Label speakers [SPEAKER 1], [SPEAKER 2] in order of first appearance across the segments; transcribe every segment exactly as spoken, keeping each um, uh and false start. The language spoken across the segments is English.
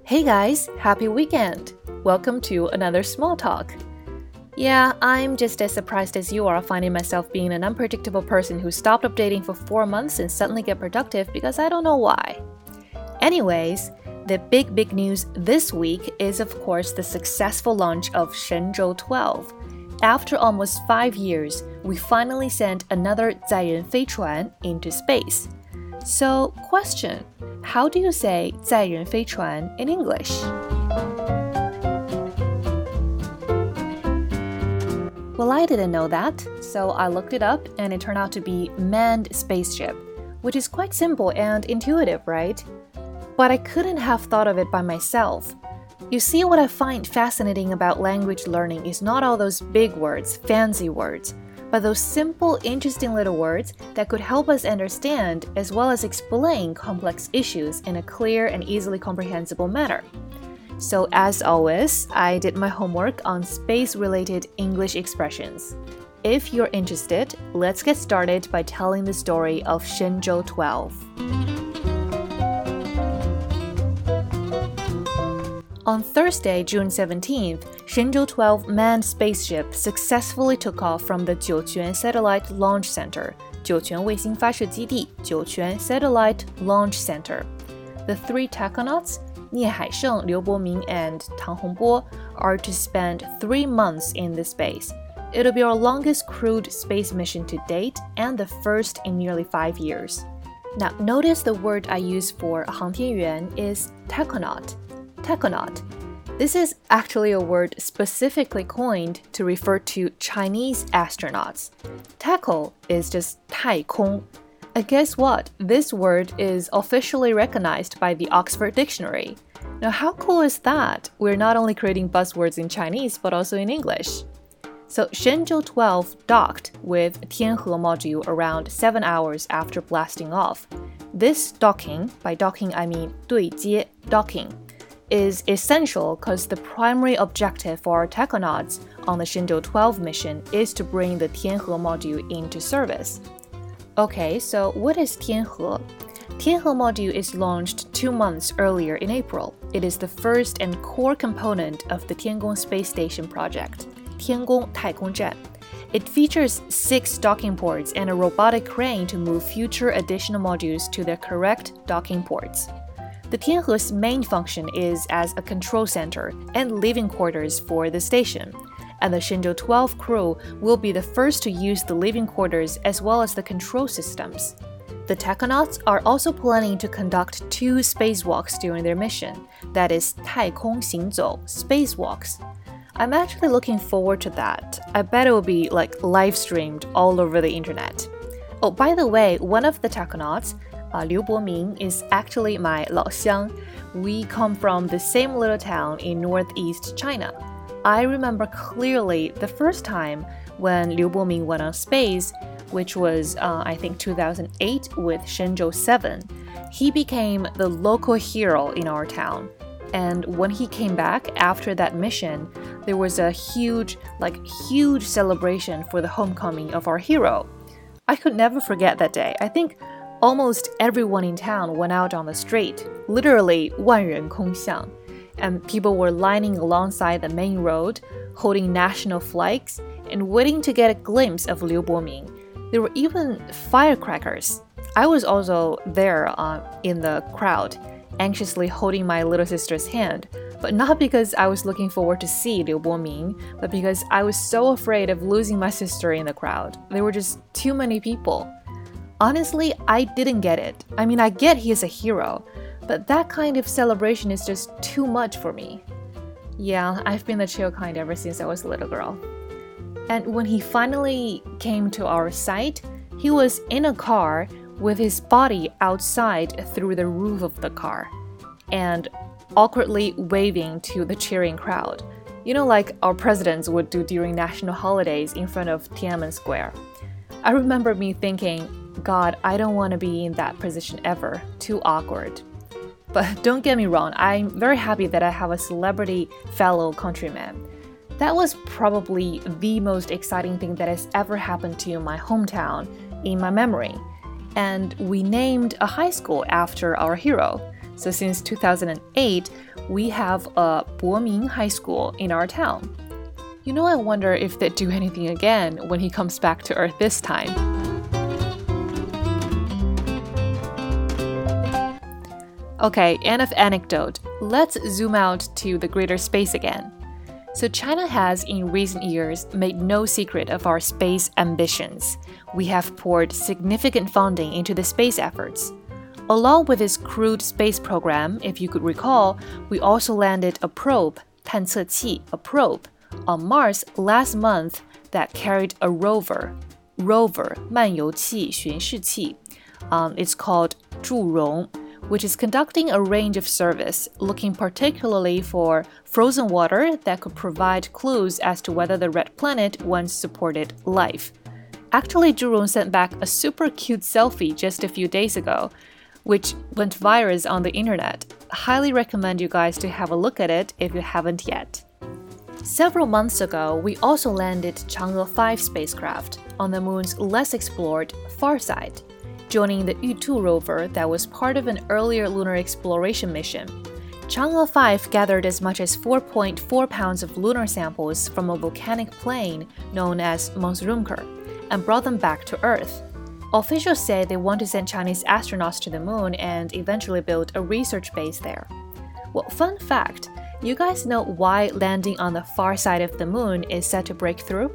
[SPEAKER 1] Hey guys, happy weekend! Welcome to another small talk. Yeah, I'm just as surprised as you are finding myself being an unpredictable person who stopped updating for four months and suddenly get productive because I don't know why. Anyways, the big big news this week is of course the successful launch of Shenzhou twelve. After almost five years, we finally sent another 载人飞船 into space. So, question, how do you say 载人飞船 in English? Well, I didn't know that, so I looked it up and it turned out to be manned spaceship, which is quite simple and intuitive, right? But I couldn't have thought of it by myself. You see, what I find fascinating about language learning is not all those big words, fancy words, but those simple, interesting little words that could help us understand as well as explain complex issues in a clear and easily comprehensible manner. So as always, I did my homework on space-related English expressions. If you're interested, let's get started by telling the story of Shenzhou twelve. On Thursday, June seventeenth, Shenzhou twelve manned spaceship successfully took off from the Jiuquan Satellite Launch Center, 酒泉卫星发射基地, Jiuquan Satellite Launch Center. The three tachonauts, 聂海胜, Liu Boming, and Tang Hongbo, are to spend three months in the space. It'll be our longest crewed space mission to date and the first in nearly five years. Now, notice the word I use for 航天员 is tachonaut.Tachonaut. This is actually a word specifically coined to refer to Chinese astronauts. Tacho is just 太空. And guess what? This word is officially recognized by the Oxford Dictionary. Now, how cool is that? We're not only creating buzzwords in Chinese, but also in English. So, Shenzhou twelve docked with Tianhe module around seven hours after blasting off. This docking, by docking I mean 对接 docking,is essential because the primary objective for our tachonauts on the Shenzhou twelve mission is to bring the Tianhe module into service. Okay, so what is Tianhe? Tianhe module is launched two months earlier in April. It is the first and core component of the Tiangong Space Station project, Tiangong 太空站. It features six docking ports and a robotic crane to move future additional modules to their correct docking ports.The Tianhe's main function is as a control center and living quarters for the station, and the Shenzhou twelve crew will be the first to use the living quarters as well as the control systems. The tachonauts are also planning to conduct two spacewalks during their mission, that is 太空行走 spacewalks. I'm actually looking forward to that. I bet it will be like live streamed all over the internet. Oh, by the way, one of the tachonauts,Uh, Liu Boming is actually my 老乡. We come from the same little town in northeast China. I remember clearly the first time when Liu Boming went on space, which was, uh, I think, two thousand eight with Shenzhou seven. He became the local hero in our town. And when he came back after that mission, there was a huge, like, huge celebration for the homecoming of our hero. I could never forget that day. I think,Almost everyone in town went out on the street, literally 万人空巷, and people were lining alongside the main road, holding national flags, and waiting to get a glimpse of Liu Boming. There were even firecrackers. I was also there uh, in the crowd, anxiously holding my little sister's hand, but not because I was looking forward to see Liu Boming, but because I was so afraid of losing my sister in the crowd. There were just too many people.Honestly, I didn't get it. I mean, I get he is a hero, but that kind of celebration is just too much for me. Yeah, I've been the chill kind ever since I was a little girl. And when he finally came to our site, he was in a car with his body outside through the roof of the car, and awkwardly waving to the cheering crowd. You know, like our presidents would do during national holidays in front of Tiananmen Square. I remember me thinking,God, I don't want to be in that position ever. Too awkward. But don't get me wrong, I'm very happy that I have a celebrity fellow countryman. That was probably the most exciting thing that has ever happened to my hometown in my memory. And we named a high school after our hero. So since two thousand eight, we have a Boming High School in our town. You know, I wonder if they'd do anything again when he comes back to Earth this time. Okay, enough anecdote. Let's zoom out to the greater space again. So China has, in recent years, made no secret of our space ambitions. We have poured significant funding into the space efforts. Along with this crewed space program, if you could recall, we also landed a probe, 探测器, a probe, on Mars last month that carried a rover. Rover, 漫游器,巡视器. Um, it's called 祝融, which is conducting a range of service, looking particularly for frozen water that could provide clues as to whether the red planet once supported life. Actually, Zhurong sent back a super cute selfie just a few days ago, which went viral on the internet. Highly recommend you guys to have a look at it if you haven't yet. Several months ago, we also landed Chang'e five spacecraft on the moon's less explored far side, joining the Yutu rover that was part of an earlier lunar exploration mission. Chang'e five gathered as much as four point four pounds of lunar samples from a volcanic plain known as Mons Rumker and brought them back to Earth. Officials say they want to send Chinese astronauts to the moon and eventually build a research base there. Well, fun fact, you guys know why landing on the far side of the moon is set to break through?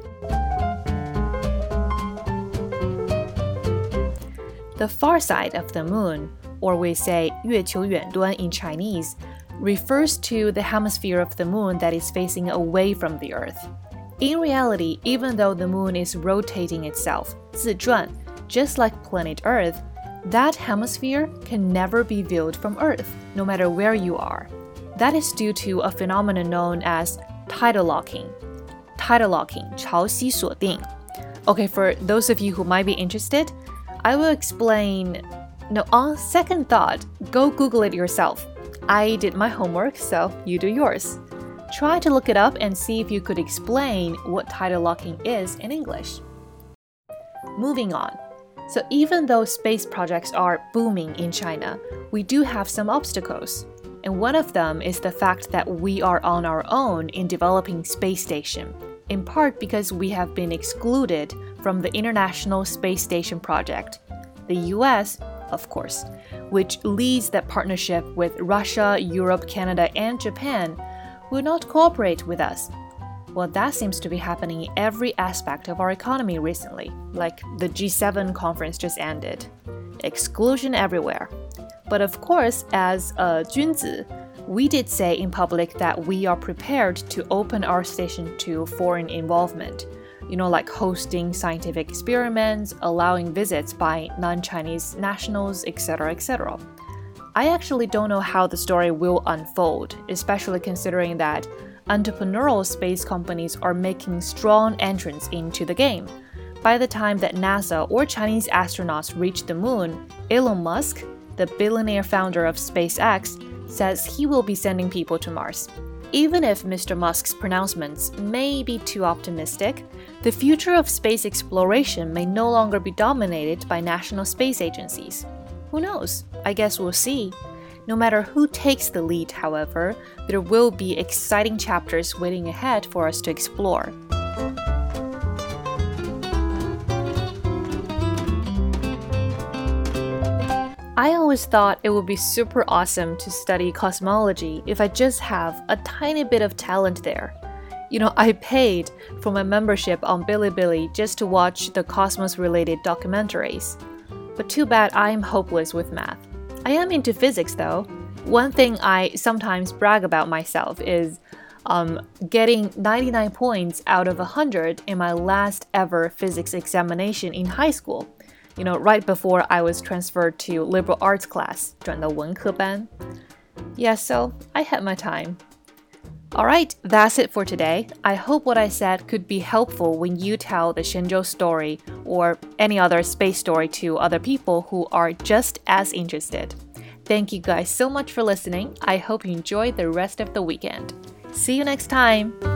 [SPEAKER 1] The far side of the moon, or we say 月球远端 in Chinese, refers to the hemisphere of the moon that is facing away from the Earth. In reality, even though the moon is rotating itself, 自转, just like planet Earth, that hemisphere can never be viewed from Earth, no matter where you are. That is due to a phenomenon known as tidal locking. Tidal locking, 潮汐锁定. Okay, for those of you who might be interested, I will explain. No, on second thought, go Google it yourself. I did my homework, so you do yours. Try to look it up and see if you could explain what tidal locking is in English. Moving on. So even though space projects are booming in China, we do have some obstacles. And one of them is the fact that we are on our own in developing space station, in part because we have been excluded from the International Space Station project. The U S, of course, which leads that partnership with Russia, Europe, Canada, and Japan, will not cooperate with us. Well, that seems to be happening in every aspect of our economy recently, like the G seven conference just ended. Exclusion everywhere. But of course, as a 君子, we did say in public that we are prepared to open our station to foreign involvement. You know, like hosting scientific experiments, allowing visits by non-Chinese nationals, et cetera, et cetera. I actually don't know how the story will unfold, especially considering that entrepreneurial space companies are making strong entrance into the game. By the time that NASA or Chinese astronauts reach the moon, Elon Musk, the billionaire founder of SpaceX, says he will be sending people to Mars. Even if Mister Musk's pronouncements may be too optimistic, the future of space exploration may no longer be dominated by national space agencies. Who knows? I guess we'll see. No matter who takes the lead, however, there will be exciting chapters waiting ahead for us to explore. I always thought it would be super awesome to study cosmology if I just have a tiny bit of talent there. You know, I paid for my membership on Bilibili just to watch the cosmos-related documentaries. But too bad I am hopeless with math. I am into physics though. One thing I sometimes brag about myself is um, getting ninety-nine points out of one hundred in my last ever physics examination in high school. You know, right before I was transferred to liberal arts class, 转到文科班. Yeah, so I had my time. Alright, that's it for today. I hope what I said could be helpful when you tell the Shenzhou story or any other space story to other people who are just as interested. Thank you guys so much for listening. I hope you enjoy the rest of the weekend. See you next time!